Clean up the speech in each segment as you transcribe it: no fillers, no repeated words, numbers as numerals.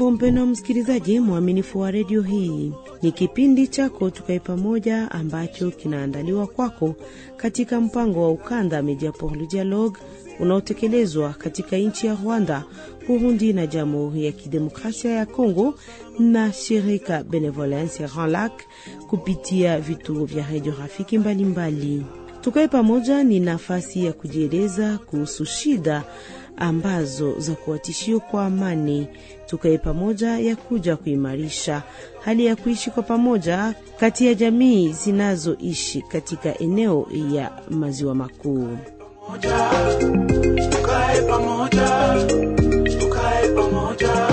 Hujambo mpendwa msikilizaji mwaminifu wa redio hii. Ni kipindi chako Tukae Pamoja ambacho kinaandaliwa kwako katika mpango wa Ukanda Media pour le Dialogue unaotekelezwa katika nchi ya Rwanda, Burundi na Jamhuri ya Kidemokrasia ya Kongo na shirika Benevolence ya Grand Lac kupitia vituo vya radio rafiki mbalimbali. Tukae Pamoja ni nafasi ya kujieleza kuhusu shida ambazo za kuatishio kwa amani. Tukae Pamoja ya kuja kuimarisha hali ya kuishi kwa pamoja kati ya jamii zinazoishi katika eneo ya Maziwa Makuu. Tukae Pamoja, Tukae Pamoja.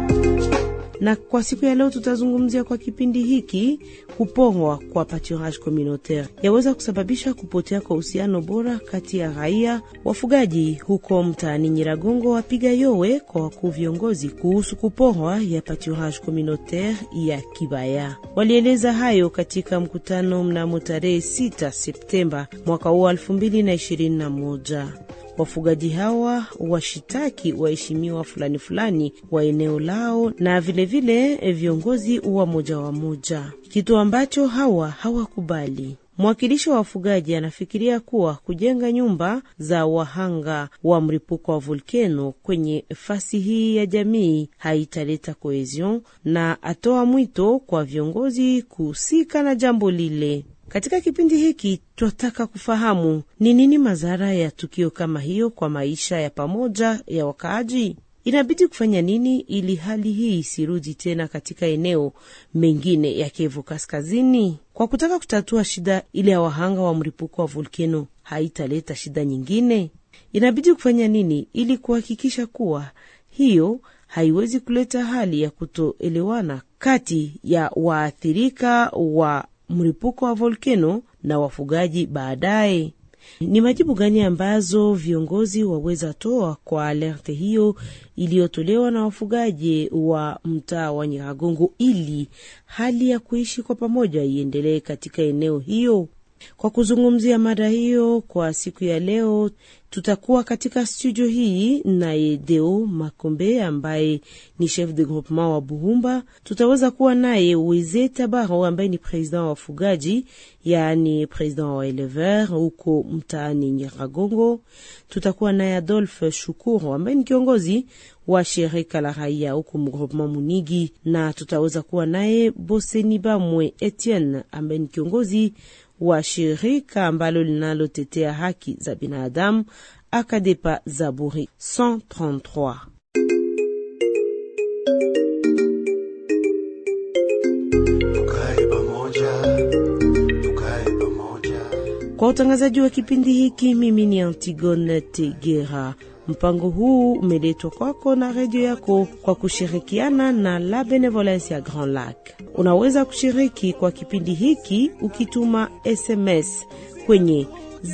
Na kwa siku ya leo tutazungumzia kwa kipindi hiki kupongwa kwa pâturage communautaire yaweza kusababisha kupotea kwa uhusiano bora kati ya raia wafugaji huko mtaani Nyiragongo. Wapiga yowe kwa wakuu viongozi kuhusu kupongwa ya pâturage communautaire ya Kibaya. Walieleza hayo katika mkutano mnamo tarehe 6 Septemba mwaka 2021. Wafugaji hawa washitaki waheshimiwa fulani wa eneo lao na vile viongozi wa moja, kitu ambacho hawakubali. Mwakilishi wa wafugaji anafikiria kuwa kujenga nyumba za wahanga wa mlipuko wa volkano kwenye fasi hii ya jamii haitaleta cohesion, na atoa mwito kwa viongozi kuhusika na jambo lile. Katika kipindi hiki tunataka kufahamu ni nini madhara ya tukio kama hiyo kwa maisha ya pamoja ya wakaaji. Inabidi kufanya nini ili hali hii isirudi tena katika eneo mengine ya Kivu Kaskazini? Kwa kutaka kutatua shida ile ya wahanga wa mlipuko wa volkano haitaleta shida nyingine. Inabidi kufanya nini ili kuhakikisha kuwa hiyo haiwezi kuleta hali ya kutoelewana kati ya waathirika wa mlipuko wa volkano na wafugaji baadaye? Ni majibu gani ambazo viongozi waweza toa kwa alerte hiyo iliyotolewa na wafugaji wa mtaa wa Nyiragongo ili hali ya kuishi kwa pamoja iendelee katika eneo hiyo? Kwa kuzungumzia mada hiyo kwa siku ya leo, tutakuwa katika studio hii na Deo Makombe ambaye ni chef de groupement wa Buhumba. Tutaweza kuwa naye Weze Tabaro ambaye ni president wa wafugaji, yani president wa éleveur huko mtaani Nyiragongo. Tutakuwa naye Adolphe Shukuru ambaye ni kiongozi wa shirika la raia huko groupement Munigi, na tutaweza kuwa naye Bosenibamwe Etienne ambaye ni kiongozi wa shirika ambalo linalotetea haki za binadamu Akadepa Zaburi 133. Tukae Pamoja, Tukae Pamoja. Kwa utangazaji wa kipindi hiki, mimi ni Antigone Tegera. Mpango huu umeletwa kwako na redio yako kwa kushirikiana na La Benevolence ya Grand Lac. Unaweza kushiriki kwa kipindi hiki ukituma SMS kwenye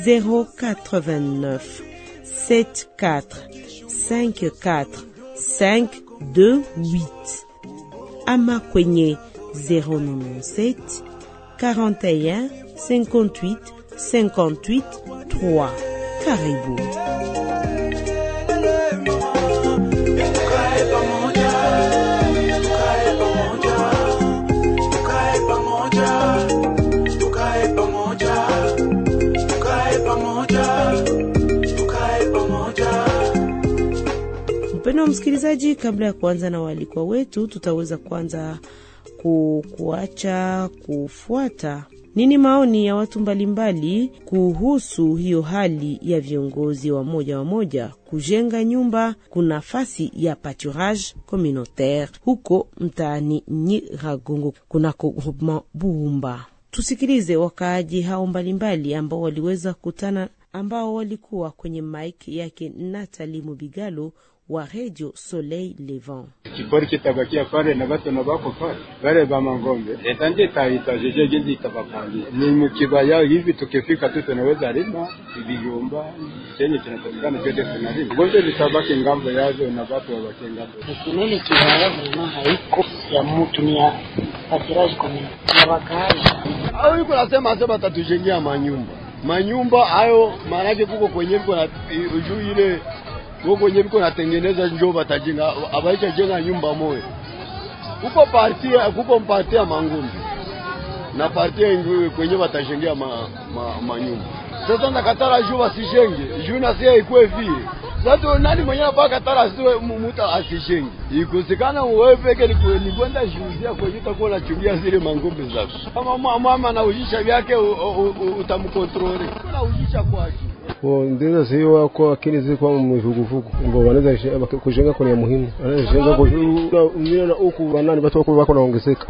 089 74 54 528 ama kwenye 097 41 58 58 3. Karibu. Mpendwa msikilizaji, kabla ya kuanza na walikwa wetu, tutaweza kuanza kuacha kufuata nini maoni ya watu mbalimbali kuhusu hiyo hali ya viongozi wa moja kujenga nyumba kuna nafasi ya pâturage communautaire huko mtaani Nyiragongo kunako groupement Buhumba. Tusikilize wakaaji hao mbalimbali ambao waliweza kutana, ambao walikuwa kwenye mic yake Nathalie Mubigalo wa Radio Soleil Levant. Kipori kitabakia pale na watu na bako pale wale ba mangombe etanje taita jeje gizi tabapandi ni mkibaya hivi, tukifika tu tunaweza lima vijumba chenye tunapatikana vyote tunalima ngoja litabaki ngambo yazo na watu wa wakenga. Kinene kibaya mama haiko ya mtu ni ya pâturage communautaire ya wakaaji. Au yuko nasema tatujengea manyumba hayo, maana kuko kwenye kuna juu ile woko nyebi kuna tengeneza njoo batajenga abaisha jenga nyumba moja kuko parti ya Mangumbi na parti yenyewe kwenye watajengea manyumba. Sasa nakatara juu wasijenge, juu na sia ikuwe vile. Sasa nani mwenye mpaka katara siwe muta asijenge. Ikosekana wewe peke ni kwenda juuzia kwenye utakuwa unachungia zile mangombe zako. Kama mama anaujisha vyake utamkontrole. Unaujisha kwake. Ndio sio wako akili ziko mvuguvugu. Ngo wanaweza kujenga kwa muhimu. Anajenga kwa mimi na huku wanani watu wako naongezeka.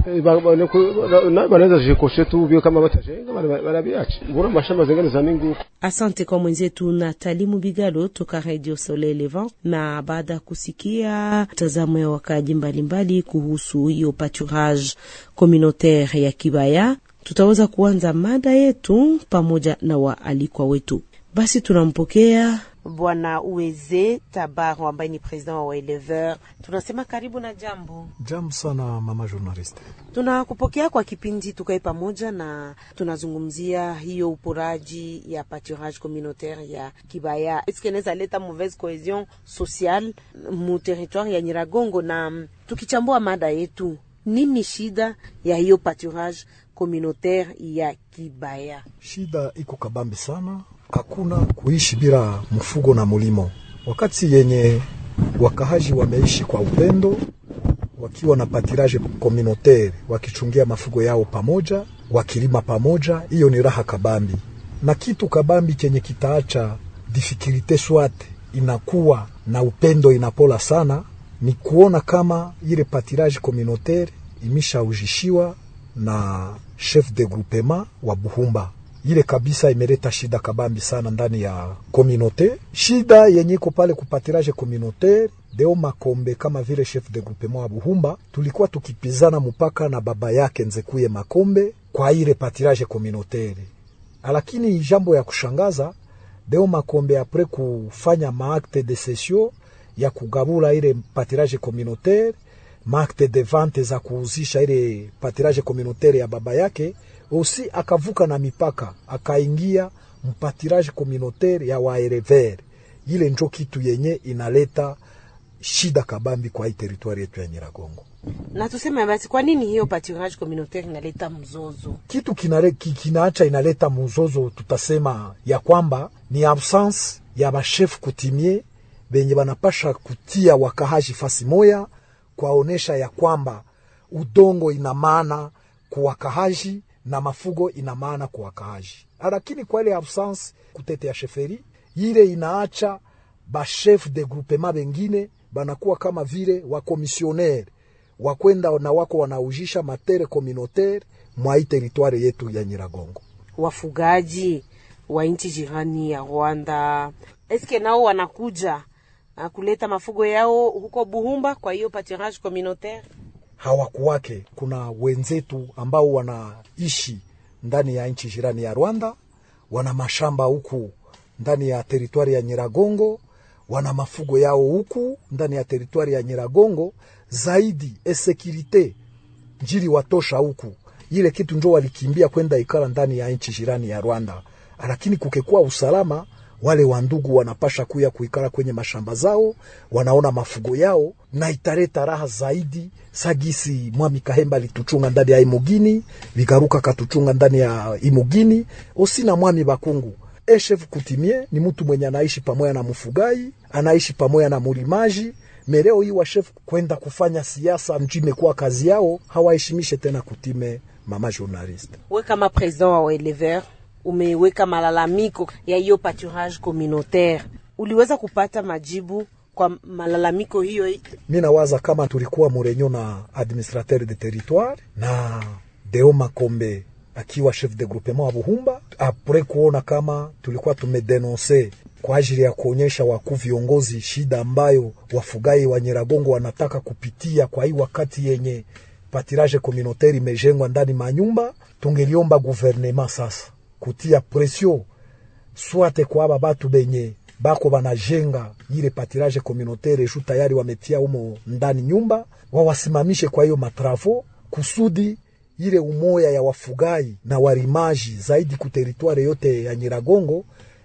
Wanaweza jikoshe tu bio kama watajenga wanabiacha. Mbona mashamba zingine za mingi. Asante kwa mwenzetu Nathalie Mubigalo toka Radio Soleil Levant. Na baada kusikia tazamo ya wakaji mbalimbali kuhusu hiyo pâturage communautaire ya Kibaya, tutaweza kuanza mada yetu pamoja na waalikwa wetu. Basi tunampokea Bwana Uweze Tabaro ambaye ni president wa Waelever. Tunasema karibu na jambo. Jambo sana mama journaliste. Tunakupokea kwa kipindi tukae pamoja na tunazungumzia hiyo uporaji ya pâturage communautaire ya Kibaya. Est-ce que inaweza leta mauvaise cohésion sociale mu territoire ya Nyiragongo? Na tukichambua mada yetu, nini shida ya hiyo pâturage communautaire ya Kibaya? Shida iko kabambi sana. Hakuna kuishi bila mfugo na mulimo. Wakati yenye wakahaji wameishi kwa upendo, wakiwa na pâturage communautaire, wakichungia mafugo yao pamoja, wakilima pamoja, hiyo ni raha kabambi. Na kitu kabambi chenye kitaacha difficulté swate inakuwa na upendo inapola sana, ni kuona kama ile pâturage communautaire imeshaujishiwa na chef de groupement wa Buhumba. Ile kabisa imeleta shida kabambi sana ndani ya communauté. Shida yenye iko pale ku pâturage communautaire, Deo Makombe kama vile chef de groupement wa Buhumba, tulikuwa tukipizana mpaka na baba yake Nzekuye Makombe kwa ile pâturage communautaire. Lakini jambo ya kushangaza, Deo Makombe apres kufanya maakte de cession ya kugabula ile pâturage communautaire, maakte de vente za kuuzisha ile pâturage communautaire ya baba yake, osi akavuka na mipaka, akaingia mpâturage communautaire ya Waelever. Ile njo kitu yenye inaleta shida kabambi kwa hii territoire yetu ya Nyiragongo. Na tuseme basi kwa nini hiyo pâturage communautaire inaleta mzozo? Kitu kinaacha inaleta mzozo, tutasema ya kwamba ni absence ya bachef coutumier benye banapasha kutia wakahaji fasi moya, kwaonesha ya kwamba udongo ina maana kwa wakahaji na mafugo ina maana kwa wakahaji. Lakini kwa ile absence kutetea sheferi, ile inaacha ba chef de groupement bengine banakuwa kama vile wa commissionnaire wakwenda na wako wanaujisha matere communautaire mwa hii territoire yetu ya Nyiragongo. Wafugaji wa nchi jirani ya Rwanda, eske nao wanakuja kuleta mafugo yao huko Buhumba kwa hiyo pâturage communautaire? Hawakuwake. Kuna wenzetu ambao wanaishi ndani ya nchi jirani ya Rwanda, wana mashamba huku ndani ya territoire ya Nyiragongo, wana mafugo yao huku ndani ya territoire ya Nyiragongo. Zaidi securite njiri watosha huku, ile kitu njo walikimbia kwenda ikala ndani ya nchi jirani ya Rwanda. Lakini kukekuwa usalama, wale wandugu wanapasha kuya kuikala kwenye mashamba zao, wanaona mafugo yao, na itareta raha zaidi. Sagisi Mwami Kahemba lituchunga ndani ya Imugini, Vigaruka katuchunga ndani ya Imugini, osina Mwami Bakungu. Chef coutumier ni mtu mwenye anaishi pamoja na mfugai, anaishi pamoja na mulimaji. Mereo hii wa chef kwenda kufanya siasa mjime kwa kazi yao, hawaheshimishe tena kutime mama journaliste. Wewe kama president wa Waelever, umeweka malalamiko ya hiyo pâturage communautaire. Uliweza kupata majibu kwa malalamiko hiyo? Mimi nawaza kama tulikuwa murenyo na administrateur de territoire na Deo Makombe akiwa chef de groupement wa Buhumba, apres kuona kama tulikuwa tumedenonce kwa ajili ya kuonyesha wakuu viongozi shida ambayo wafugai wa Nyiragongo wanataka kupitia kwa hii wakati yenye pâturage communautaire imejengwa ndani manyumba. Tungeliomba gouvernement sasa kutia pression swate kwa aba batu benye bako banajenga ile pâturage communautaire ju tayari wametia umo ndani nyumba, wawasimamishe kwa hiyo matravo kusudi ile umoya ya wafugai na warimaji zaidi ku territoire yote ya Nyiragongo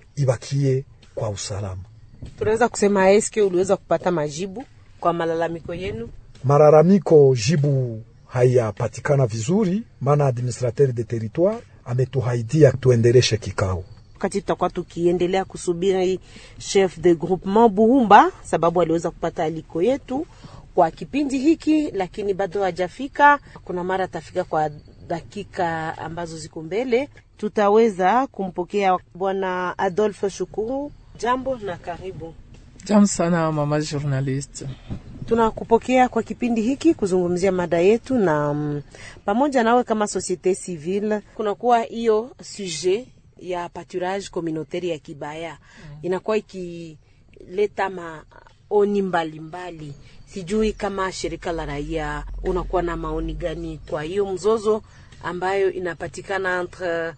ibakie kwa usalama. Tunaweza kusema eske uliweza kupata majibu kwa malalamiko yenu? Malalamiko jibu haiyapatikana vizuri, maana administrateur de territoire ametuhaidia tuendeleshe kikao. Wakati tutakuwa tukiendelea kusubiri chef de groupement Buhumba, sababu aliweza kupata aliko yetu kwa kipindi hiki, lakini bado hajafika. Kuna mara tafika kwa dakika ambazo ziko mbele. Tutaweza kumpokea bwana Adolphe Shukuru. Jambo na karibu. Jambo sana mama journalist. Tunakupokea kwa kipindi hiki kuzungumzia mada yetu, na pamoja nawe kama societe civile kunakuwa hiyo sujet ya pâturage communautaire ya Kibaya. Inakuwa ikileta maoni mbalimbali. Sijui kama shirika la raia unakuwa na maoni gani kwa hiyo mzozo ambayo inapatikana entre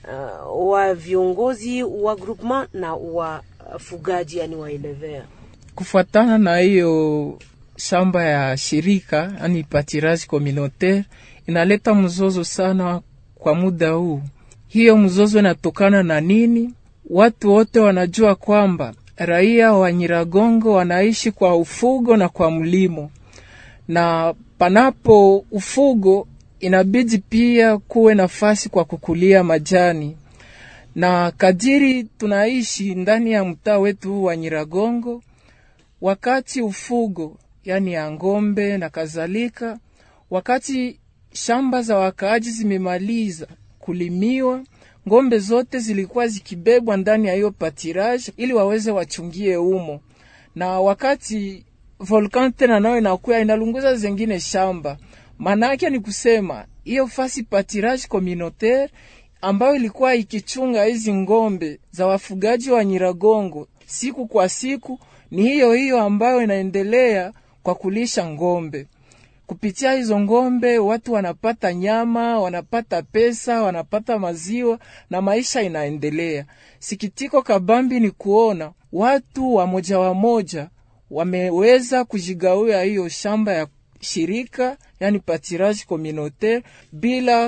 wa viongozi wa groupement na wa fugaji, yani wa éleveur. Kufuatana na hiyo shamba ya shirika, yani pâturage communautaire, inaleta mzozo sana kwa muda huu. Hiyo mzozo inatokana na nini? Watu wote wanajua kwamba raia wa Nyiragongo wanaishi kwa ufugo na kwa mlimo, na panapo ufugo inabidi pia kuwe nafasi kwa kukulia majani. Na kadiri tunaishi ndani ya mtaa wetu wa Nyiragongo, wakati ufugo, yani ya ngombe na kadhalika, wakati shamba za wakaaji zimemaliza kulimiwa, ngombe zote zilikuwa zikibebwa ndani ya hiyo pâturage ili waweze wachungie umo. Na wakati volcan tena nayo inakuwa inalunguza zingine shamba, manake ni kusema hiyo fasi pâturage communautaire ambayo ilikuwa ikichunga hizi ngombe za wafugaji wa Nyiragongo siku kwa siku, ni hiyo ambayo inaendelea kwa kulisha ngombe. Kupitia hizo ngombe watu wanapata nyama, wanapata pesa, wanapata maziwa na maisha inaendelea. Sikitiko kabambi ni kuona watu wa moja wameweza kujigawia hiyo shamba ya shirika, yani pâturage communautaire, bila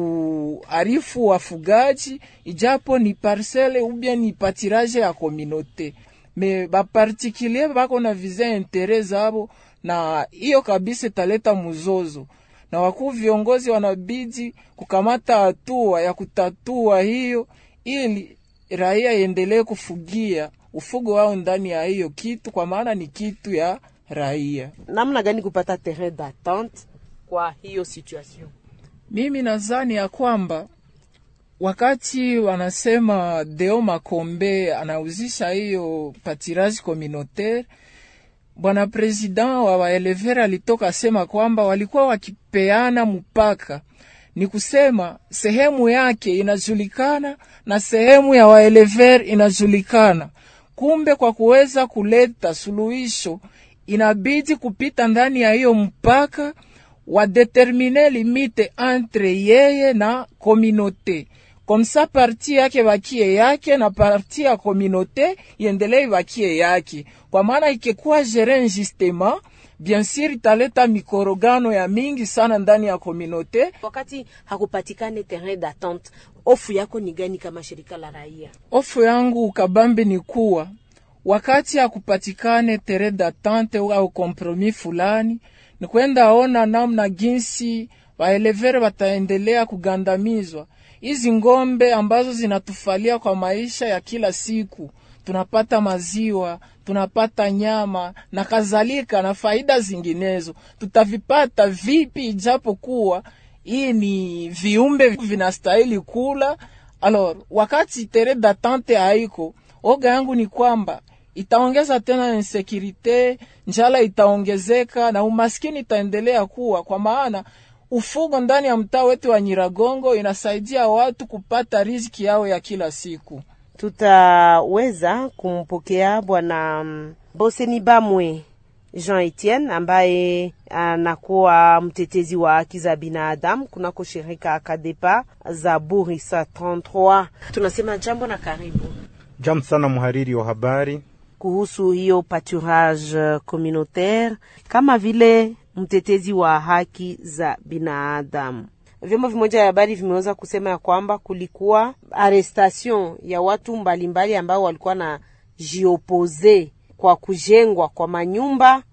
kuarifu wafugaji, ijapo ni parcelle ou bien ni pâturage ya communauté. Me ba particulier bako na visa intérêt zabo, na hiyo kabisa taleta mzozo. Na wakuu viongozi wanabidi kukamata hatua ya kutatua hiyo, ili raia endelee kufugia ufugo wao ndani ya hiyo kitu, kwa maana ni kitu ya raia. Namna gani kupata terrain d'attente kwa hiyo situation? Mimi nadhani ya kwamba wakati wanasema Deo Makombe anauzisha hiyo pâturage communautaire, bwana president wa waelevera alitoka sema kwamba walikuwa wakipeana mpaka, ni kusema sehemu yake inajulikana na sehemu ya waelever inajulikana. Kumbe kwa kuweza kuleta suluhisho inabidi kupita ndani ya hiyo mpaka, wa determiner limite entre yeye na communauté. Comme ça parti yake bakie yake na parti ya communauté iendelee bakie yake. Kwa maana ikikuwa gérer injustement, bien sûr italeta mikorogano ya mingi sana ndani ya communauté. Wakati hakupatikane terrain d'attente, ofu yako ni gani kama shirika la raia? Ofu yangu ukabambe ni kuwa wakati hakupatikane terrain d'attente au compromis fulani, ni kwenda ona namna jinsi waelevere wataendelea kugandamizwa. Hizi ngombe ambazo zinatufalia kwa maisha ya kila siku, tunapata maziwa, tunapata nyama na kadhalika na faida zinginezo, tutavipata vipi ijapo kuwa hii ni viumbe vinastahili kula? Alors wakati terrain d'attente haiko, oga yangu ni kwamba itaongeza tena insecurite, njala itaongezeka na umaskini itaendelea kuwa, kwa maana ufugo ndani ya mtaa wetu wa Nyiragongo inasaidia watu kupata riziki yao ya kila siku. Tutaweza kumpokea bwana Boseni Bamwe Jean Etienne, ambaye anakuwa mtetezi wa haki za binadamu kunako shirika Akadepa za Burisa 33. Tunasema jambo na karibu. Jambo sana muhariri wa habari. Kuhusu hiyo pâturage communautaire, kama vile mtetezi wa haki za binadamu, vyombo vimoja ya habari vimeweza kusema ya kwamba kulikuwa arrestation ya watu mbalimbali ambao walikuwa na jiopose kwa kujengwa kwa manyumba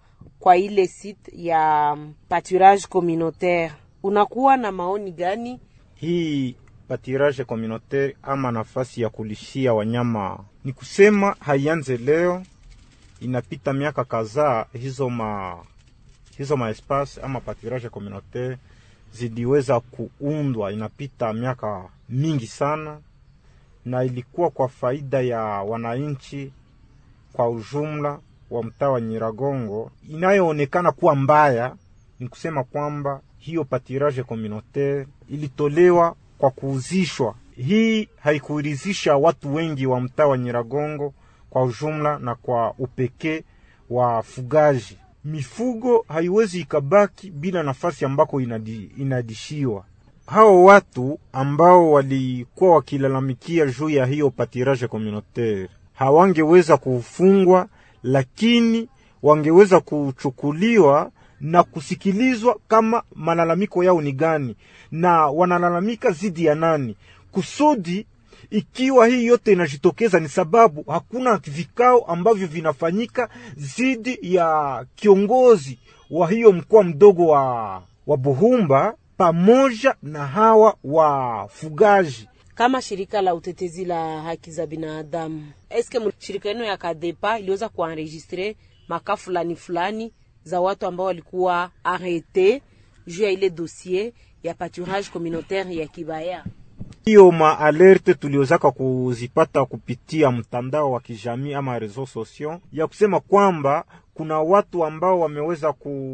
kwa ile site ya pâturage communautaire. Unakuwa na maoni gani? Hii pâturage communautaire ama nafasi ya kulishia wanyama, ni kusema haianze leo, inapita miaka kadhaa. Hizo ma espace ama pâturage communautaire zidiweza kuundwa, inapita miaka mingi sana, na ilikuwa kwa faida ya wananchi kwa ujumla wa mtaa wa Nyiragongo. Inayoonekana kuwa mbaya ni kusema kwamba hiyo pâturage communautaire ilitolewa kwa kuuzishwa. Hii haikuridhisha watu wengi wa mtaa wa Nyiragongo kwa ujumla na kwa upekee wa fugaji. Mifugo haiwezi ikabaki bila nafasi ambako inadishiwa. Hao watu ambao walikuwa wakilalamikia juu ya hiyo pâturage communautaire hawangeweza kufungwa, lakini wangeweza kuchukuliwa na kusikilizwa kama malalamiko yao ni gani na wanalalamika zidi ya nani. Kusudi ikiwa hii yote inajitokeza ni sababu hakuna vikao ambavyo vinafanyika zidi ya kiongozi wa hiyo mkoa mdogo wa Buhumba pamoja na hawa wafugaji. Kama shirika la utetezi la haki za binadamu, eske shirika yenu ya Kadepa iliweza kuenregistrer maka fulani za watu ambao walikuwa arrete juu ya ile dossier ya pâturage communautaire ya Kibaya? Hiyo maalerte tuliozaka kuzipata kupitia mtandao wa kijamii ama reseaux sociaux, ya kusema kwamba kuna watu ambao wameweza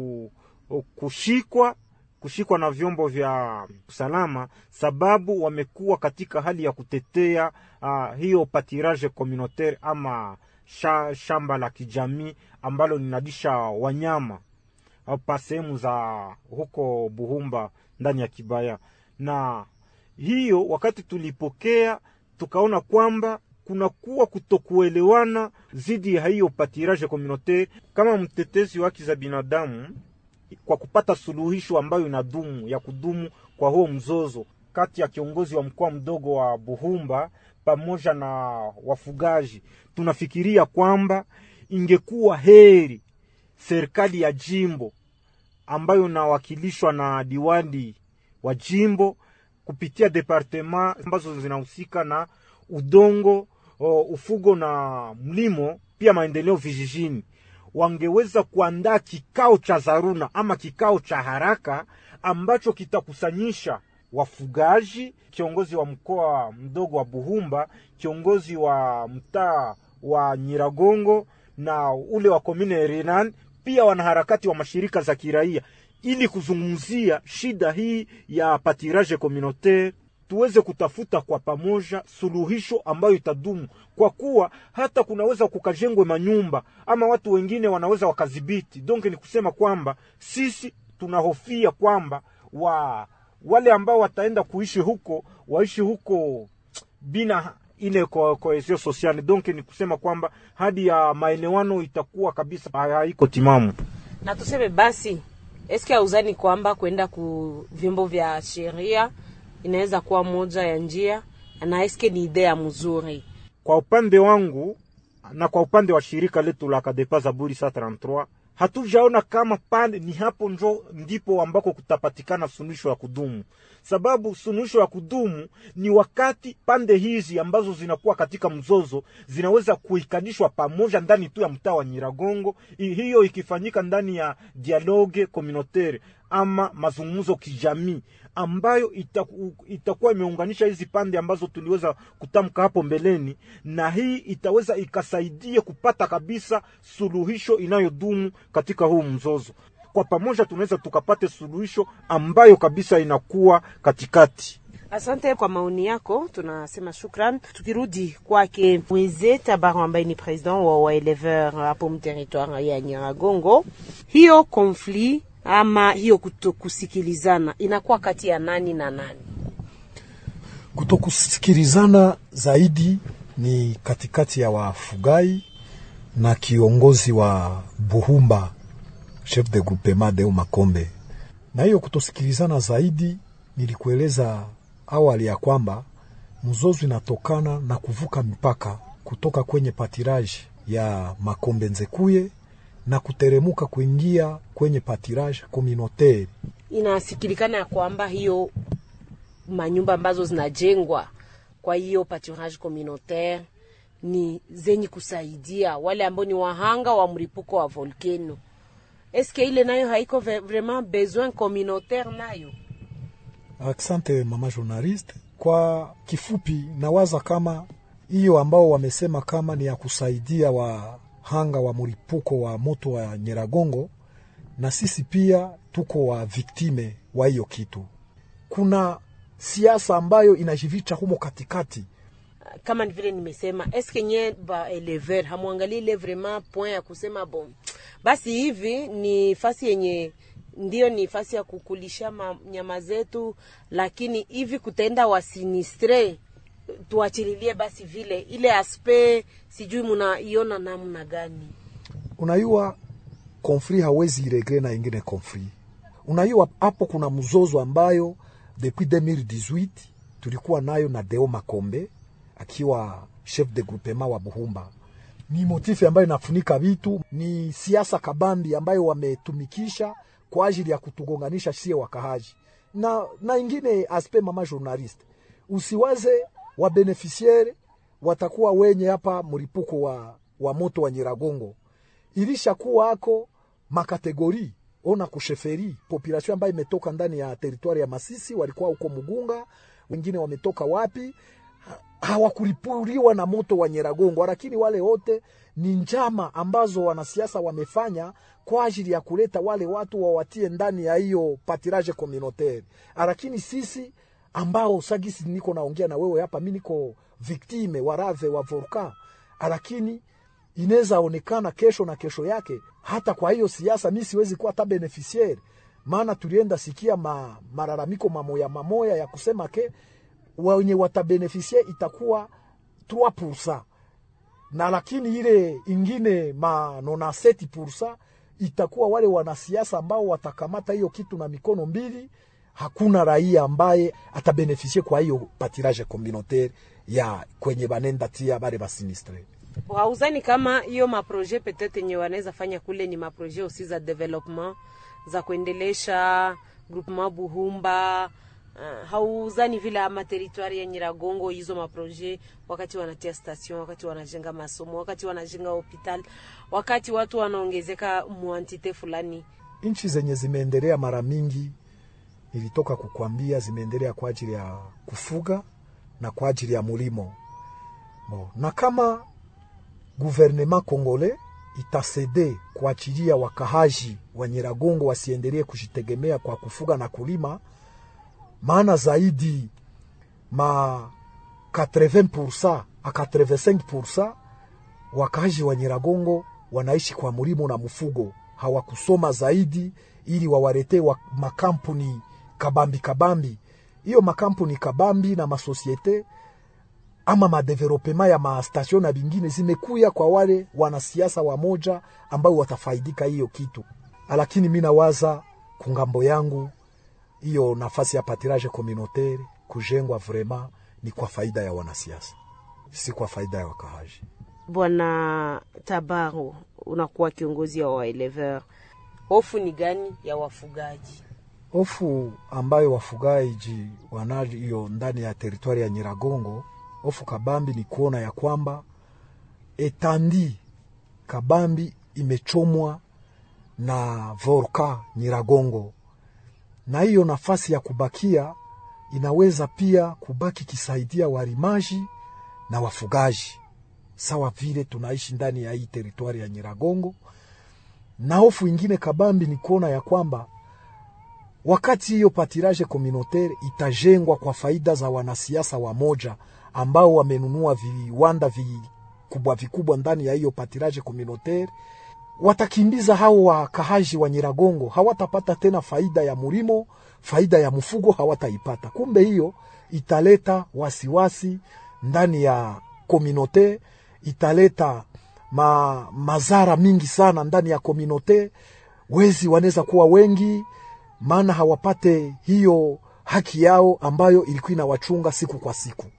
kushikwa na vyombo vya usalama sababu wamekuwa katika hali ya kutetea hiyo pâturage communautaire ama shamba la kijamii ambalo linadisha wanyama hapa sehemu za huko Buhumba ndani ya Kibaya. Na hiyo wakati tulipokea tukaona kwamba kuna kuwa kutokuelewana zidi ya hiyo pâturage communautaire. Kama mtetezi wa haki za binadamu, kwa kupata suluhisho ambayo inadumu ya kudumu kwa huo mzozo kati ya kiongozi wa mkoa mdogo wa Buhumba pamoja na wafugaji, tunafikiria kwamba ingekuwa heri serikali ya jimbo ambayo inawakilishwa na diwani wa jimbo kupitia departement ambazo zinahusika na udongo, ufugo na mlimo, pia maendeleo vijijini, wangeweza kuandaa kikao cha dharura ama kikao cha haraka ambacho kitakusanyisha wafugaji, kiongozi wa mkoa mdogo wa Buhumba, kiongozi wa mtaa wa Nyiragongo na ule wa commune Renan, pia wanaharakati wa mashirika za kiraia, ili kuzungumzia shida hii ya pâturage communautaire, tuweze kutafuta kwa pamoja suluhisho ambayo itadumu, kwa kuwa hata kunaweza kukajengwe manyumba ama watu wengine wanaweza wakadhibiti. Donc ni kusema kwamba sisi tunahofia kwamba wale ambao wataenda kuishi huko waishi huko bina ile cohesion sociale. Donc ni kusema kwamba hadi ya maelewano itakuwa kabisa haiko timamu. Na tuseme basi, eske hauzani kwamba kwenda ku vyombo vya sheria inaweza kuwa moja ya njia, na eske ni idea mzuri? Kwa upande wangu na kwa upande wa shirika letu la Kadepa Zaburi 133, hatujaona kama pande ni hapo ndipo ambako kutapatikana suluhisho ya kudumu. Sababu suluhisho ya kudumu ni wakati pande hizi ambazo zinakuwa katika mzozo zinaweza kuikanishwa pamoja ndani tu ya mtaa wa Nyiragongo. Hiyo ikifanyika ndani ya dialogue communautaire ama mazungumzo kijamii ambayo itakuwa imeunganisha hizi pande ambazo tuliweza kutamka hapo mbeleni, na hii itaweza ikasaidia kupata kabisa suluhisho inayodumu katika huu mzozo. Kwa pamoja tunaweza tukapate suluhisho ambayo kabisa inakuwa katikati. Asante kwa maoni yako, tunasema shukran. Tukirudi kwake Mweze Tabaru ambaye ni president wa éleveur hapo mteritoire ya Nyiragongo, hiyo conflit ama hiyo kutokusikilizana inakuwa kati ya nani na nani? Kutokusikilizana zaidi ni katikati ya wafugai na kiongozi wa Buhumba, chef de groupement de Makombe. Na hiyo kutosikilizana zaidi nilikueleza awali ya kwamba mzozo inatokana na kuvuka mipaka kutoka kwenye patiraji ya Makombe Nzekuye na kuteremuka kuingia kwenye patirage communautaire. Inasikilikana ya kwamba hiyo manyumba ambazo zinajengwa kwa hiyo patirage communautaire ni zenye kusaidia wale ambao ni wahanga wa mlipuko wa volcano. Eske ile nayo haiko vraiment besoin communautaire nayo? Asante mama journaliste. Kwa kifupi nawaza kama hiyo ambao wamesema kama ni ya kusaidia wahanga wa mlipuko wa moto wa Nyiragongo, na sisi pia tuko wa viktime wa hiyo kitu. Kuna siasa ambayo inajivicha humo katikati. Kama vile nimesema, eske nye ba elever hamuangalie ile vraiment point ya kusema bon, basi hivi ni fasi yenye ndio ni fasi ya kukulisha nyama zetu, lakini hivi kutenda wasinistre tuachililie basi vile ile aspe, sijui mnaiona namna gani? Unayua conflit hawezi iregre na ingine conflit. Unayua hapo kuna mzozo ambayo depuis 2018 tulikuwa nayo na Deo Makombe akiwa chef de groupement wa Buhumba. Ni motifu ambayo inafunika vitu, ni siasa kabambi ambayo wametumikisha kwa ajili ya kutugonganisha sie wakahaji. Na ingine aspe mama journaliste, usiwaze wa beneficiaire watakuwa wenye hapa mlipuko wa moto wa Nyiragongo. Ilisha kuwa hako makategori, ona kusheferi, population ambayo imetoka ndani ya territoire ya Masisi, walikuwa huko Mugunga, wengine wametoka wapi, hawakulipuriwa na moto wa Nyiragongo, lakini wale wote ni njama ambazo wanasiasa wamefanya kwa ajili ya kuleta wale watu wawatie ndani ya hiyo patirage communautaire. Lakini sisi ambao sagisi niko naongea na wewe hapa, mimi niko victime warave wa volcan, lakini inaweza onekana kesho na kesho yake hata kwa hiyo siasa mimi siwezi kuwa hata beneficiaire. Maana tulienda sikia malalamiko mamoya ya kusema ke wenye watabeneficie itakuwa 3%, na lakini ile ingine 97% itakuwa wale wanasiasa ambao watakamata hiyo kitu na mikono mbili. Hakuna raia ambaye atabeneficie kwa hiyo patirage communautaire ya kwenye banenda tia bare basinistre. Hauzani kama hiyo maproje peut-être yenye wanaweza fanya kule ni maproje aussi za development za kuendelesha groupement Buhumba? Hauzani vile ama territoire ya Nyiragongo hizo maproje, wakati wanatia station, wakati wanajenga masomo, wakati wanajenga hospital, wakati watu wanaongezeka muantite fulani? Nchi zenye zimeendelea mara mingi, nilitoka kukwambia, zimeendelea kwa ajili ya kufuga na kwa ajili ya mulimo. Na kama gouvernement congolais itasede kuachilia wakahaji wa Nyiragongo wasiendelee kujitegemea kwa kufuga na kulima, maana zaidi 80% a 85% wakahaji wa Nyiragongo wanaishi kwa mulimo na mfugo, hawakusoma zaidi ili wawarete makampuni kabambi. Hiyo makampuni kabambi na masosiete ama madevelopema ya mastation na bingine zimekuya kwa wale wanasiasa wamoja ambao watafaidika hiyo kitu. Lakini mimi nawaza kungambo yangu hiyo nafasi ya patirage communautaire kujengwa vraiment ni kwa faida ya wanasiasa, si kwa faida ya wakahaji. Bwana Tabaro, unakuwa kiongozi wa elever, hofu ni gani ya wafugaji? Hofu ambayo wafugaji wanaji hiyo ndani ya territoire ya Nyiragongo, hofu kabambi ni kuona ya kwamba etandi kabambi imechomwa na volcan Nyiragongo, na hiyo nafasi ya kubakia inaweza pia kubaki kisaidia warimaji na wafugaji sawa vile tunaishi ndani ya hii territoire ya Nyiragongo. Na hofu ingine kabambi ni kuona ya kwamba wakati hiyo patirage communautaire itajengwa kwa faida za wanasiasa wamoja ambao wamenunua viwanda vikubwa ndani ya hiyo patirage communautaire, watakimbiza hao wakahaji wa Nyiragongo, hawatapata tena faida ya mulimo, faida ya mfugo hawataipata. Kumbe hiyo italeta wasiwasi ndani ya communauté, italeta mazara mingi sana ndani ya communauté. Wezi wanaweza kuwa wengi, maana hawapate hiyo haki yao ambayo ilikuwa inawachunga siku kwa siku.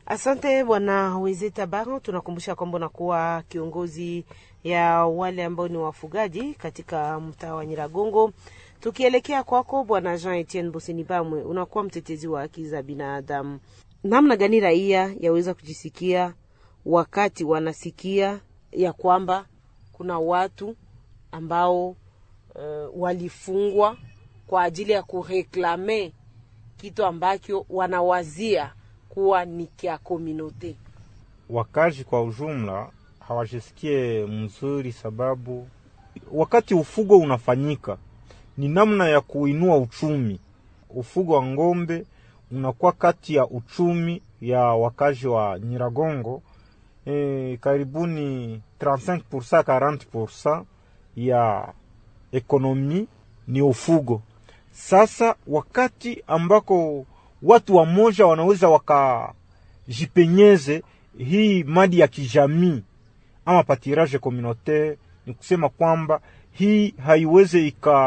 Asante Bwana Wezeta Baro, tunakumbusha kwamba unakuwa kiongozi ya wale ambao ni wafugaji katika mtaa wa Nyiragongo. Tukielekea kwako Bwana Jean Etienne Bosenibamwe, unakuwa mtetezi wa haki za binadamu. Namna gani raia yaweza kujisikia wakati wanasikia ya kwamba kuna watu ambao walifungwa kwa ajili ya kureklame kitu ambacho wanawazia kuwa ni kia community? Wakazi kwa ujumla hawajisikie mzuri, sababu wakati ufugo unafanyika ni namna ya kuinua uchumi. Ufugo wa ngombe unakuwa kati ya uchumi ya wakazi wa Nyiragongo. Karibuni 35% 40% ya ekonomi ni ufugo. Sasa wakati ambako watu wa moja wanaweza wakajipenyeze hii madi ya kijamii ama patirage communautaire, ni kusema kwamba hii haiweze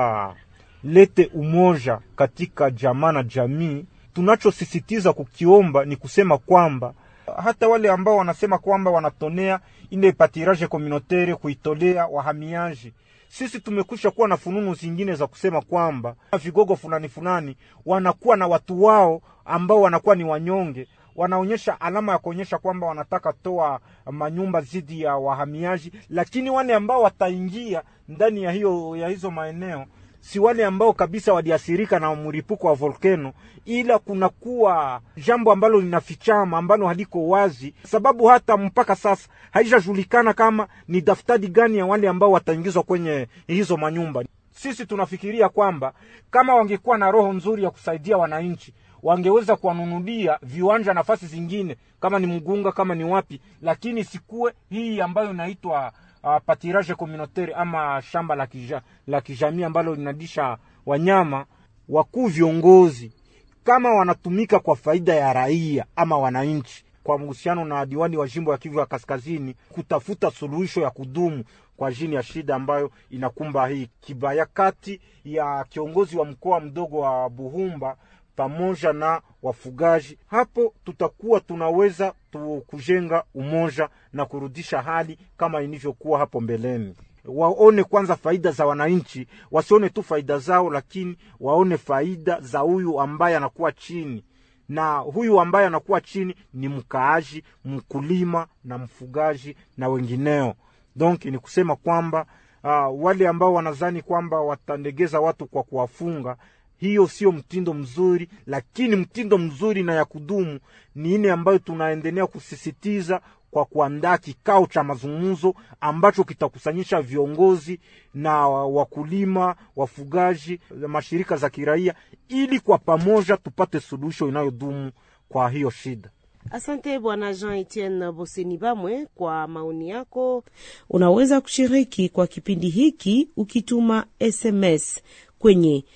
ikalete umoja katika jamaa na jamii. Tunachosisitiza kukiomba ni kusema kwamba hata wale ambao wanasema kwamba wanatonea ile patirage communautaire kuitolea wahamiaji, sisi tumekusha kuwa na fununu zingine za kusema kwamba vigogo fulani wanakuwa na watu wao ambao wanakuwa ni wanyonge, wanaonyesha alama ya kuonyesha kwamba wanataka toa manyumba zidi ya wahamiaji, lakini wale ambao wataingia ndani ya hizo maeneo si wale ambao kabisa waliathirika na mlipuko wa volcano, ila kunakuwa jambo ambalo linafichama, ambalo haliko wazi, sababu hata mpaka sasa haijajulikana kama ni daftari gani ya wale ambao wataingizwa kwenye hizo manyumba. Sisi tunafikiria kwamba kama wangekuwa na roho nzuri ya kusaidia wananchi, wangeweza kuwanunulia viwanja nafasi zingine, kama ni Mugunga, kama ni wapi, lakini sikuwe hii ambayo inaitwa patirage communautaire ama shamba la kijamii ambalo linadisha wanyama. Wakuu viongozi kama wanatumika kwa faida ya raia ama wananchi, kwa mhusiano na diwani wa jimbo ya Kivu ya Kaskazini, kutafuta suluhisho ya kudumu kwa ajili ya shida ambayo inakumba hii kibaya kati ya kiongozi wa mkoa mdogo wa Buhumba pamoja na wafugaji. Hapo tutakuwa tunaweza kujenga umoja na kurudisha hali kama ilivyokuwa hapo mbeleni. Waone kwanza faida za wananchi, wasione tu faida zao, lakini waone faida za huyu ambaye anakuwa chini. Na huyu ambaye anakuwa chini ni mkaaji, mkulima na mfugaji na wengineo. Donc ni kusema kwamba wale ambao wanazani kwamba watandegeza watu kwa kuwafunga, hiyo sio mtindo mzuri, lakini mtindo mzuri na ya kudumu ni ile ambayo tunaendelea kusisitiza kwa kuandaa kikao cha mazungumzo ambacho kitakusanyisha viongozi na wakulima, wafugaji, mashirika za kiraia, ili kwa pamoja tupate suluhisho inayodumu kwa hiyo shida. Asante Bwana Jean Etienne Bosenibamwe kwa maoni yako. Unaweza kushiriki kwa kipindi hiki ukituma SMS kwenye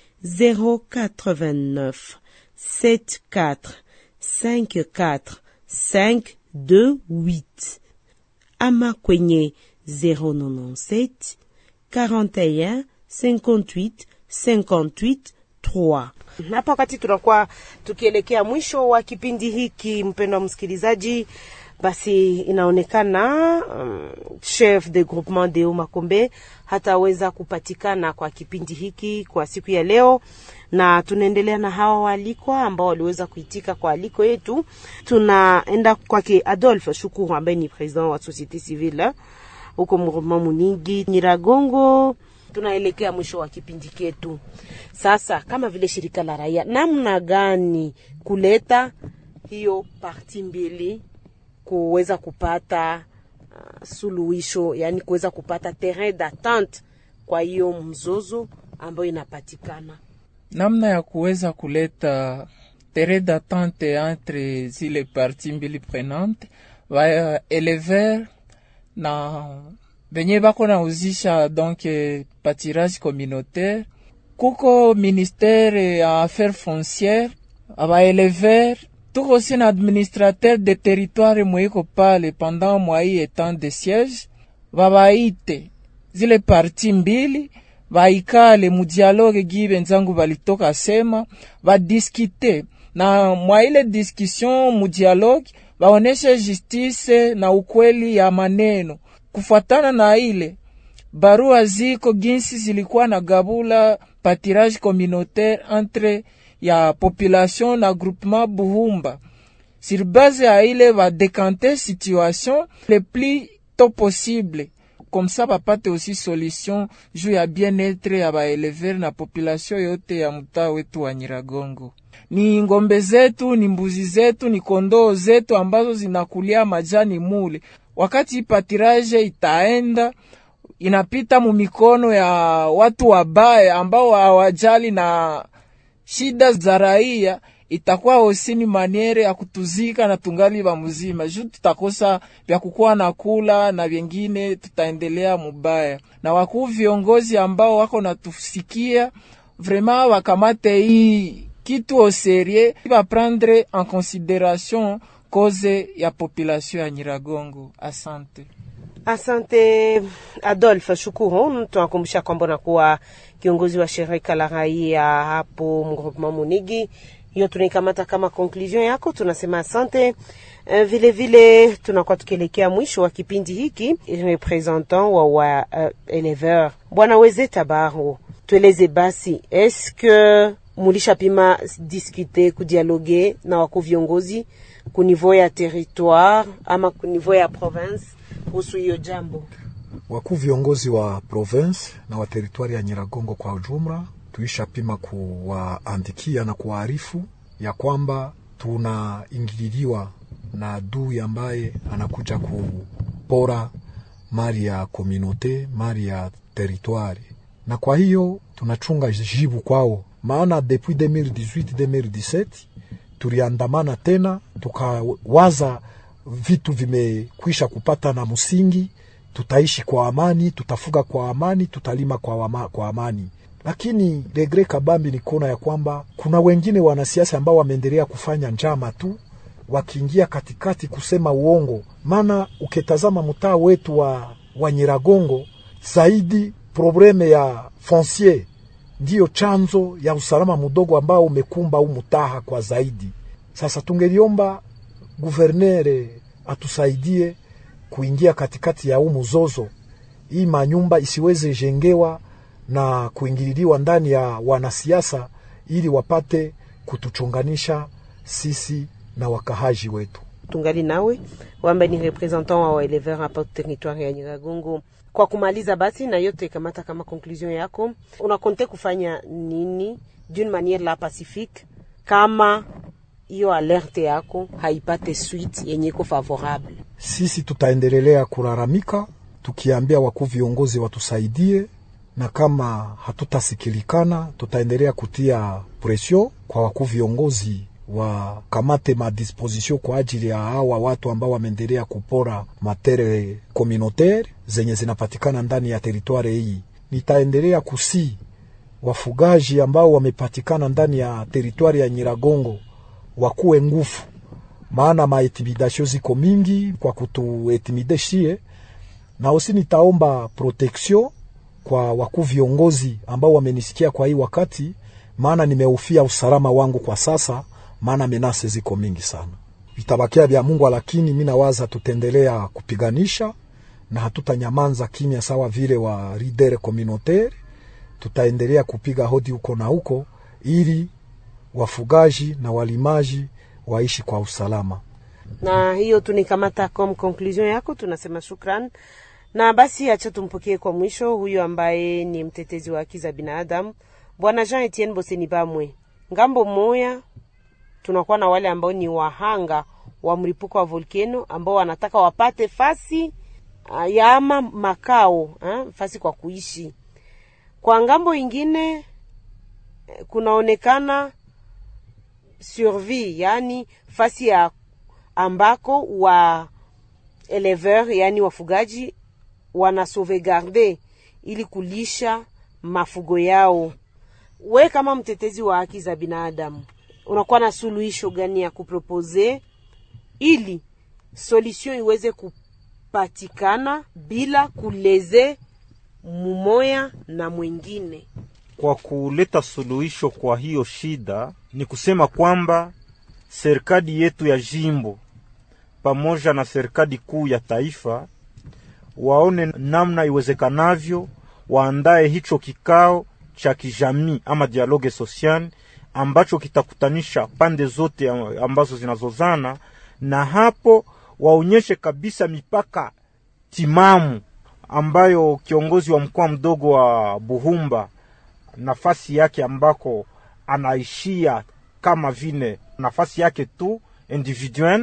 089 74 54 528 ama kwenye 097 41 58 58 3. Hapa wakati tunakuwa tukielekea mwisho wa kipindi hiki, mpendwa msikilizaji, basi inaonekana chef de groupement de Makombe hataweza kupatikana kwa kipindi hiki kwa siku ya leo, na tunaendelea na hawa walikwa ambao waliweza kuitika kwa aliko yetu. Tunaenda kwake Adolphe Shukuru ambaye ni president wa societe civile huko Groupement Muningi Nyiragongo. Tunaelekea mwisho wa kipindi chetu. Sasa kama vile shirika la raia, namna gani kuleta hiyo parti mbili kuweza kupata suluhisho, yani kuweza kupata terrain d'attente kwa hiyo mzozo ambayo inapatikana? Namna ya kuweza kuleta terrain d'attente entre zile parti mbili prenante va elever na benye bako na uzisha donc patirage communautaire. Kuko ministère ya affaires foncières, aba elever, tuko aussi na administrateur de territoire mweko pale pendant mwai etant de siège, babaite zile parti mbili baikale mu dialogue gibe nzangu balitoka sema, ba discuter na mwa ile discussion mu dialogue baoneshe justice na ukweli ya maneno. Kufuatana na ile barua ziko ginsi zilikuwa na gabula patirage communautaire entre ya population na groupement Buhumba. Sur base ya ile va décanter situation le plus tôt possible. Comme ça bapate aussi solution juu ya bien-être ya baelever na population yote ya mtaa wetu wa Nyiragongo. Ni ngombe zetu, ni mbuzi zetu, ni kondoo zetu ambazo zinakulia majani mule. Wakati patirage itaenda, inapita mumikono ya watu wabaya ambao hawajali na shida za raia, itakuwa osini maniere ya kutuzika na tungali ba mzima. Juu tutakosa vya kukua na kula na vingine tutaendelea mubaya. Na wakuu viongozi ambao wako natusikia, vraiment wakamate hii kitu au sérieux, va prendre en considération cause ya population ya Nyiragongo. Asante. Asante Adolphe, shukuru. Tunakumbusha kwamba unakuwa kiongozi wa shirika la raia hapo mgroupement Munigi. Hiyo tunaikamata kama conclusion yako, tunasema asante. Vile vile tunakuwa tukielekea mwisho wa kipindi hiki. Representant wa éleveur Bwana Wezeta Baro, tueleze basi, est-ce que mulisha pima discuter, kudialogue na wako viongozi ku niveau ya territoire ama ku niveau ya province kuhusu hiyo jambo? Wakuu viongozi wa province na wa territoire ya Nyiragongo kwa ujumla tuisha pima kuwaandikia na kuwaarifu ya kwamba tunaingililiwa na adui ambaye anakuja kupora mali ya communauté, mali ya territoire. Na kwa hiyo tunachunga jibu kwao, maana depuis 2018-2017 tuliandamana tena, tukawaza vitu vimekwisha kupata na msingi, tutaishi kwa amani, tutafuga kwa amani, tutalima kwa amani. Lakini regret kabambi ni kuona ya kwamba kuna wengine wanasiasa ambao wameendelea kufanya njama tu, wakiingia katikati kusema uongo. Maana ukitazama mtaa wetu wa Nyiragongo, zaidi probleme ya foncier ndiyo chanzo ya usalama mdogo ambao umekumba mtaa kwa zaidi. Sasa tungeliomba gouverneur atusaidie kuingia katikati ya mzozo, hii manyumba isiweze jengewa na kuingililiwa ndani ya wanasiasa, ili wapate kutuchunganisha sisi na wakahaji wetu. Tungali nawe wamba ni representant wa éleveur hapa territoire ya Nyiragongo. Kwa kumaliza basi na yote kamata kama conclusion yako, unakonte kufanya nini d'une manière la pacifique kama hiyo alerte yako haipate suite yenye iko favorable? Sisi tutaendelea kulalamika tukiambia wakuu viongozi watusaidie, na kama hatutasikilikana tutaendelea kutia pression kwa wakuu viongozi wa kamate ma disposition kwa ajili ya hawa watu ambao wameendelea kupora matere communautaire zenye zinapatikana ndani ya territoire hii. Nitaendelea kusi wafugaji ambao wamepatikana ndani ya territoire ya Nyiragongo wakuwe nguvu, maana maintimidation ziko mingi kwa kutuintimideshie. Na usi nitaomba protection kwa wakuu viongozi ambao wamenisikia kwa hii wakati, maana nimeufia usalama wangu kwa sasa, maana menase ziko mingi sana. Vitabakia vya Mungu, lakini mimi nawaza tutendelea kupiganisha na hatutanyamanza kimya sawa vile wa leader communautaire. Tutaendelea kupiga hodi huko na huko ili wafugaji na walimaji waishi kwa usalama. Na hiyo tunikamata comme conclusion yako, tunasema shukran. Na basi acha tumpokee kwa mwisho huyo ambaye ni mtetezi wa haki za binadamu, Bwana Jean Etienne Boseni Bamwe. Ngambo moya tunakuwa na wale ambao ni wahanga wa mlipuko wa volcano ambao wanataka wapate fasi ya ama makao, fasi kwa kuishi. Kwa ngambo ingine kunaonekana survie, yani fasi ya ambako wa éleveur, yani wafugaji wana sauvegarder ili kulisha mafugo yao. We kama mtetezi wa haki za binadamu, unakuwa na suluhisho gani ya kupropose ili solution iweze kupatikana bila kuleze mumoya na mwingine? Kwa kuleta suluhisho kwa hiyo shida ni kusema kwamba serikali yetu ya jimbo pamoja na serikali kuu ya taifa waone namna iwezekanavyo waandae hicho kikao cha kijamii ama dialogue social ambacho kitakutanisha pande zote ambazo zinazozana, na hapo waonyeshe kabisa mipaka timamu ambayo kiongozi wa mkoa mdogo wa Buhumba nafasi yake ambako anaishia kama vile nafasi yake tu individual,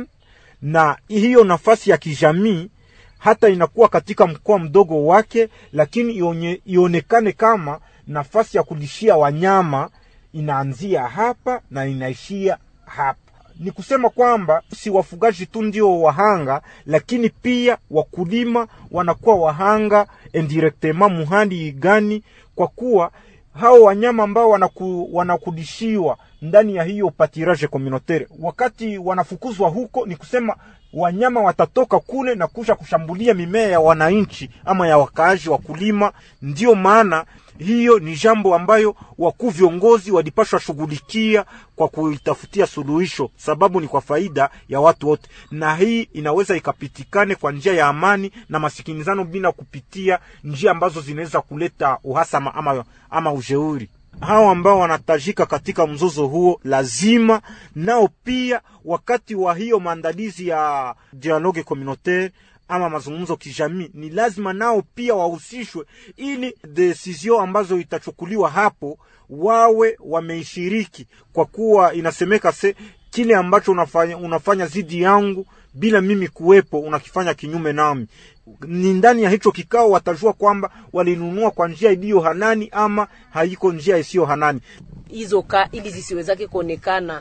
na hiyo nafasi ya kijamii hata inakuwa katika mkoa mdogo wake, lakini ionekane kama nafasi ya kulishia wanyama inaanzia hapa na inaishia hapa. Ni kusema kwamba si wafugaji tu ndio wahanga, lakini pia wakulima wanakuwa wahanga indirectement muhali gani, kwa kuwa hao wanyama ambao wanakulishiwa ndani ya hiyo pâturage communautaire, wakati wanafukuzwa huko, ni kusema wanyama watatoka kule na kusha kushambulia mimea ya wananchi ama ya wakaaji wakulima. Ndio maana hiyo ni jambo ambayo wakuu viongozi walipashwa shughulikia kwa kuitafutia suluhisho, sababu ni kwa faida ya watu wote, na hii inaweza ikapitikane kwa njia ya amani na masikinizano bila kupitia njia ambazo zinaweza kuleta uhasama ama ujeuri. Hao ambao wanatajika katika mzozo huo lazima nao pia wakati wa hiyo maandalizi ya dialogue communautaire ama mazungumzo kijamii, ni lazima nao pia wahusishwe, ili decision ambazo itachukuliwa hapo wawe wameishiriki, kwa kuwa inasemeka kile ambacho unafanya zidi yangu bila mimi kuwepo unakifanya kinyume nami. Ni ndani ya hicho kikao watajua kwamba walinunua kwa njia iliyo halali ama haiko njia isiyo halali. Hizo ili zisiwezake kuonekana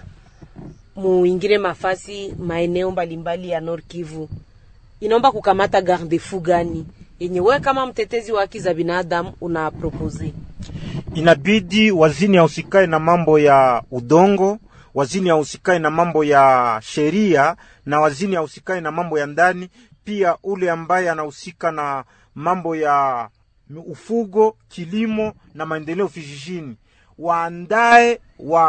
muingire mafasi maeneo mbalimbali ya Nord Kivu, inaomba kukamata garde-fou gani yenye wewe kama mtetezi wa haki za binadamu una propose? Inabidi wazini usikae na mambo ya udongo, wazini usikae na mambo ya sheria, na wazini usikae na mambo ya ndani. Pia ule ambaye anahusika na mambo ya ufugo, kilimo na maendeleo vijijini, waandae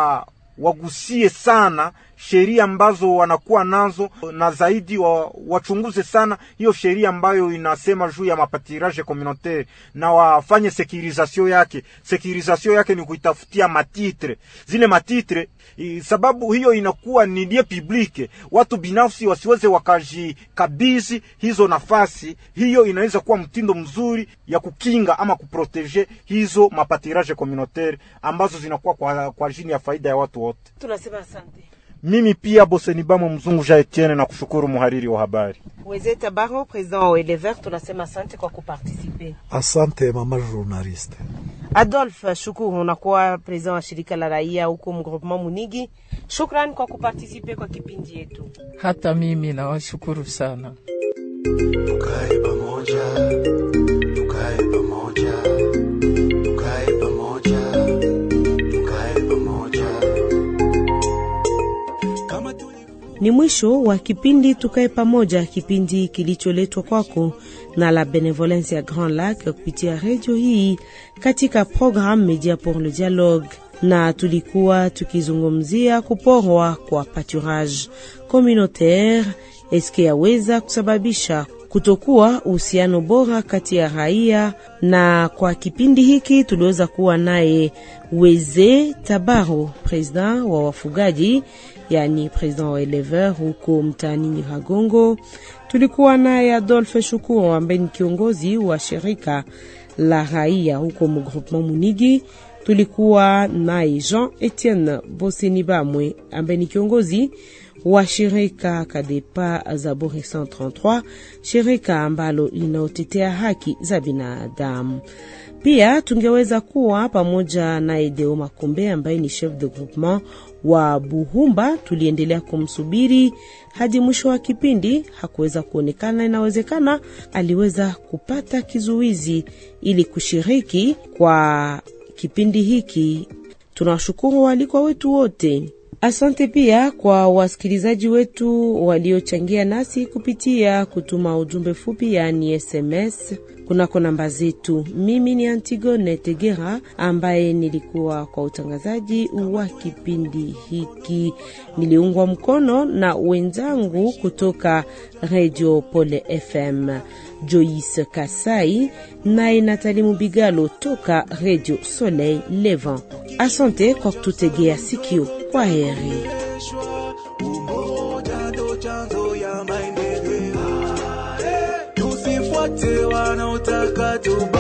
wagusie sana sheria ambazo wanakuwa nazo, na zaidi wachunguze sana hiyo sheria ambayo inasema juu ya mapâturage communautaire, na wafanye sécurisation yake. Sécurisation yake ni kuitafutia matitre, zile matitre, sababu hiyo inakuwa ni lieu public, watu binafsi wasiweze wakajikabizi hizo nafasi. Hiyo inaweza kuwa mtindo mzuri ya kukinga ama kuproteger hizo mapâturage communautaire ambazo zinakuwa kwa ajili ya faida ya watu wote. Tunasema asante. Mimi pia Bosenibamo Mzungu Jean Etienne na kushukuru muhariri wa habari. Weze Tabaro, president wa Elever, tunasema asante kwa kuparticiper. Asante mama journaliste. Adolphe Shukuru, unakuwa president wa shirika la raia huko mgroupement Munigi. Shukrani kwa kuparticiper kwa kipindi yetu. Hata mimi nawashukuru sana. Tukae pamoja, tukae pamoja, tukae pamoja, tukae pamoja. Ni mwisho wa kipindi Tukae Pamoja, kipindi kilicholetwa kwako na la Benevolence ya Grand Lac kupitia radio hii katika programme Media pour le Dialogue, na tulikuwa tukizungumzia kuporwa kwa pâturage communautaire eske yaweza kusababisha kutokuwa uhusiano bora kati ya raia. Na kwa kipindi hiki tuliweza kuwa naye Weze Tabaro, president wa wafugaji, yani president wa Elever huko mtaani Nyiragongo. Tulikuwa naye Adolphe Shukuru ambaye ni kiongozi wa shirika la raia huko mgroupement Munigi. Tulikuwa naye Jean Etienne Bosenibamwe ambaye ni kiongozi wa shirika Kadepa Zaburi 133, shirika ambalo linaotetea haki za binadamu. Pia tungeweza kuwa pamoja na Edeo Makombe ambaye ni chef de groupement wa Buhumba. Tuliendelea kumsubiri hadi mwisho wa kipindi, hakuweza kuonekana. Inawezekana aliweza kupata kizuizi ili kushiriki kwa kipindi hiki. Tunashukuru walikuwa wetu wote. Asante pia kwa wasikilizaji wetu waliochangia nasi kupitia kutuma ujumbe fupi, yani SMS. kunako namba zetu. Mimi ni Antigone Tegera ambaye nilikuwa kwa utangazaji wa kipindi hiki. Niliungwa mkono na wenzangu kutoka Radio Pole FM, Joyce Kasai na Nathalie Mubigalo toka Radio Soleil Levant. Asante kwa kututegea sikio. Kwa heri. Tusifuate wanaotaka